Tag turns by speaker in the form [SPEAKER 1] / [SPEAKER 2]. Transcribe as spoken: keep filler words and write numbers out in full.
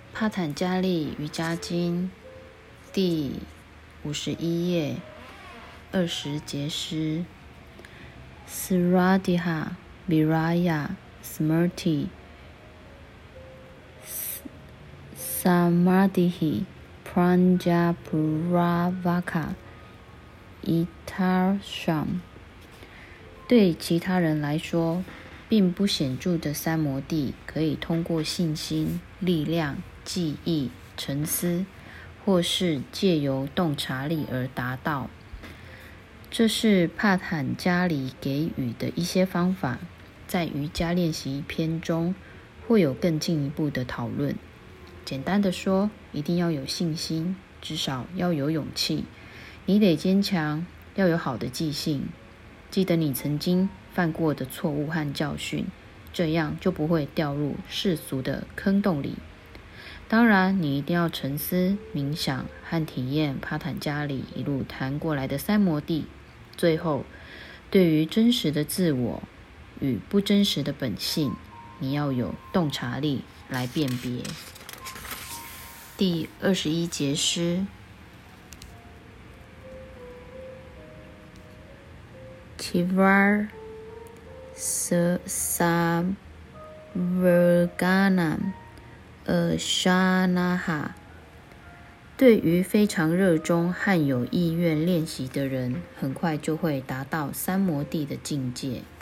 [SPEAKER 1] 帕坦加利瑜伽经第五十一页二十节诗 Sradha Viraya Smriti Samadhi Pranjapuravaka Itarsham。 对其他人来说，并不显著的三摩地可以通过信心、力量、记忆、沉思，或是借由洞察力而达到。这是帕坦加里给予的一些方法，在瑜伽练习篇中会有更进一步的讨论。简单的说，一定要有信心，至少要有勇气。你得坚强，要有好的记性，记得你曾经犯过的错误和教训，这样就不会掉入世俗的坑洞里。当然，你一定要沉思、冥想和体验帕坦加里一路谈过来的三摩地。最后，对于真实的自我与不真实的本性，你要有洞察力来辨别。第二十一节诗 Tivar Savarganam Ashanaha。 对于非常热衷和有意愿练习的人，很快就会达到三摩地的境界。